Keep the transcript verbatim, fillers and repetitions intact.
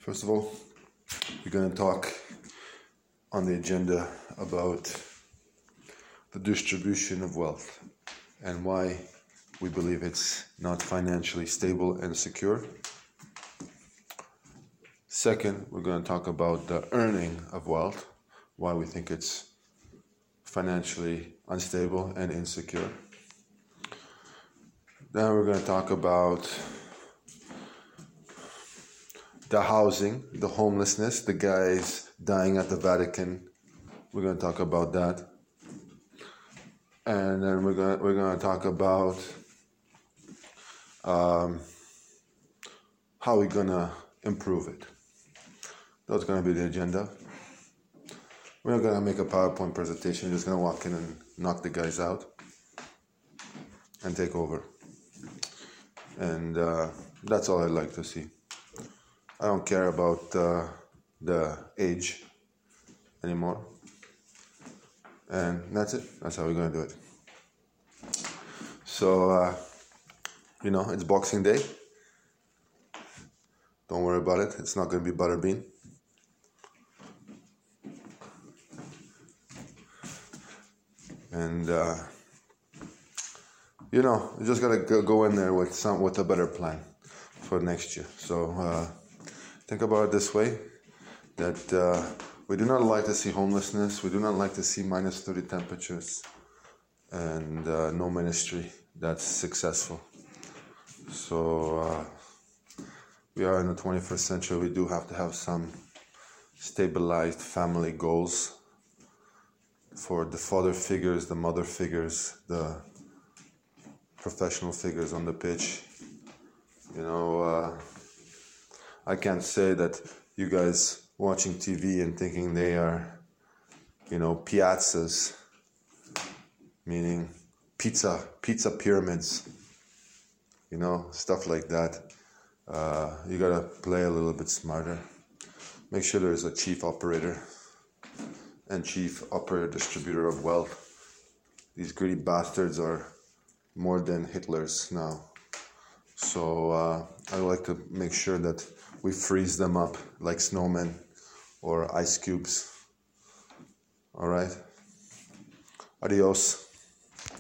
First of all, we're going to talk on the agenda about the distribution of wealth and why we believe it's not financially stable and secure. Second, we're going to talk about the earning of wealth, why we think it's financially unstable and insecure. Then we're going to talk about the housing, the homelessness, the guys dying at the Vatican. We're going to talk about that. And then we're going to, we're going to talk about um, how we're going to improve it. That's going to be the agenda. We're not going to make a PowerPoint presentation. We're just going to walk in and knock the guys out and take over. And uh, that's all I'd like to see. I don't care about uh, the age anymore. And that's it. That's how we're going to do it. So, uh, you know, it's Boxing Day. Don't worry about it. It's not going to be Butterbean. And, uh, you know, you just got to go in there with some with a better plan for next year. So uh, think about it this way, that uh, we do not like to see homelessness. We do not like to see minus thirty temperatures and uh, no ministry that's successful. So uh, we are in the twenty-first century. We do have to have some stabilized family goals for the father figures, the mother figures, the professional figures on the pitch. You know, uh, I can't say that you guys watching T V and thinking they are, you know, piazzas, meaning pizza, pizza pyramids, you know, stuff like that. Uh, you gotta play a little bit smarter. Make sure there's a chief operator and chief operator distributor of wealth. These greedy bastards are more than Hitlers now. So uh, I like to make sure that we freeze them up like snowmen or ice cubes. All right? Adios.